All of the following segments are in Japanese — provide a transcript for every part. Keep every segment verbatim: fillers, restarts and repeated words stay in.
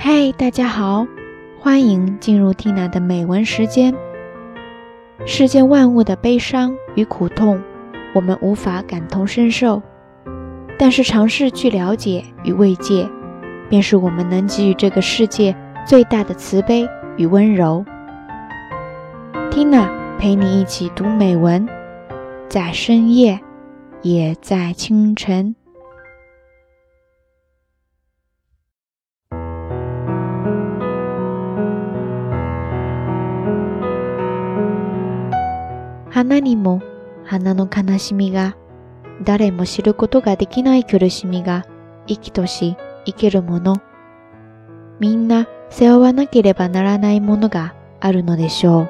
嘿，大家好，欢迎进入 Tina 的美文时间。世间万物的悲伤与苦痛，我们无法感同身受，但是尝试去了解与慰藉，便是我们能给予这个世界最大的慈悲与温柔。Tina 陪你一起读美文，在深夜，也在清晨。花にも花の悲しみが、誰も知ることができない苦しみが生きとし生けるもの。みんな背負わなければならないものがあるのでしょう。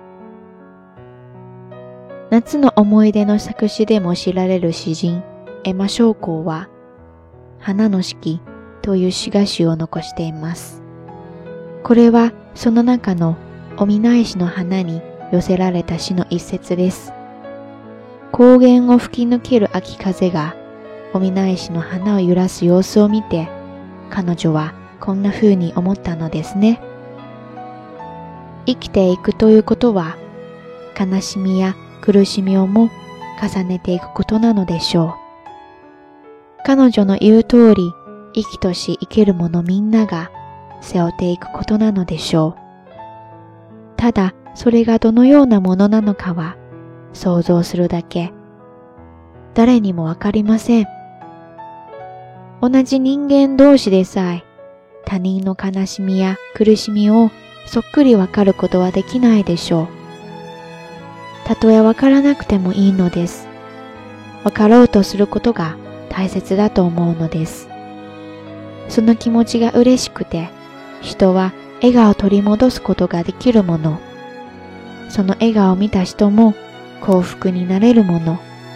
夏の思い出の作詞でも知られる詩人、エマ将校は、花の四季という詩歌集を残しています。これはその中のお見舞いしの花に寄せられた詩の一節です。高原を吹き抜ける秋風がお見舞いしの花を揺らす様子を見て、彼女はこんな風に思ったのですね。生きていくということは、悲しみや苦しみをも重ねていくことなのでしょう。彼女の言う通り、生きとし生けるものみんなが背負っていくことなのでしょう。ただ、それがどのようなものなのかは想像するだけ。誰にもわかりません。同じ人間同士でさえ他人の悲しみや苦しみをそっくりわかることはできないでしょう。たとえわからなくてもいいのです。わかろうとすることが大切だと思うのです。その気持ちが嬉しくて、人は笑顔を取り戻すことができるもの。その笑顔を見た人も幸福になれるもの。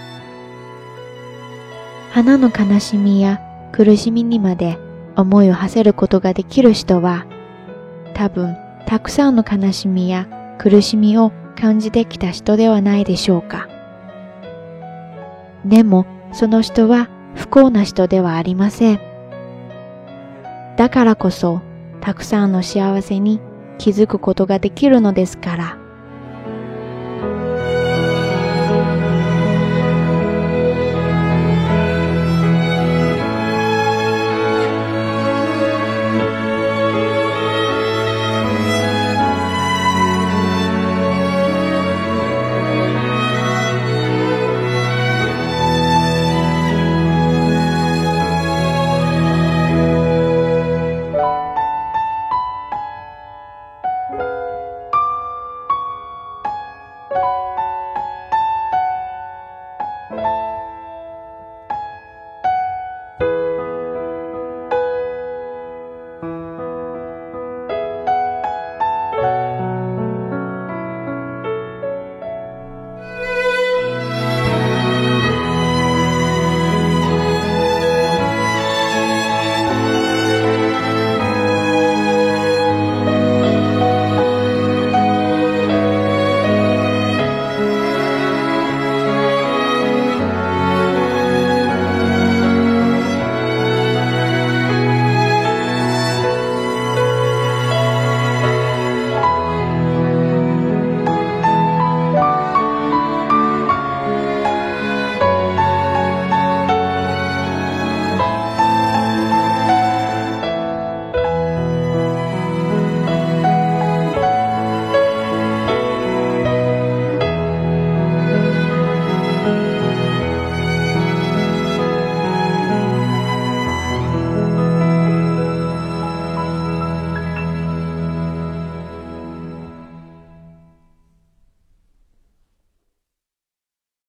花の悲しみや苦しみにまで思いを馳せることができる人は、多分たくさんの悲しみや苦しみを感じてきた人ではないでしょうか。でもその人は不幸な人ではありません。だからこそたくさんの幸せに気づくことができるのですから。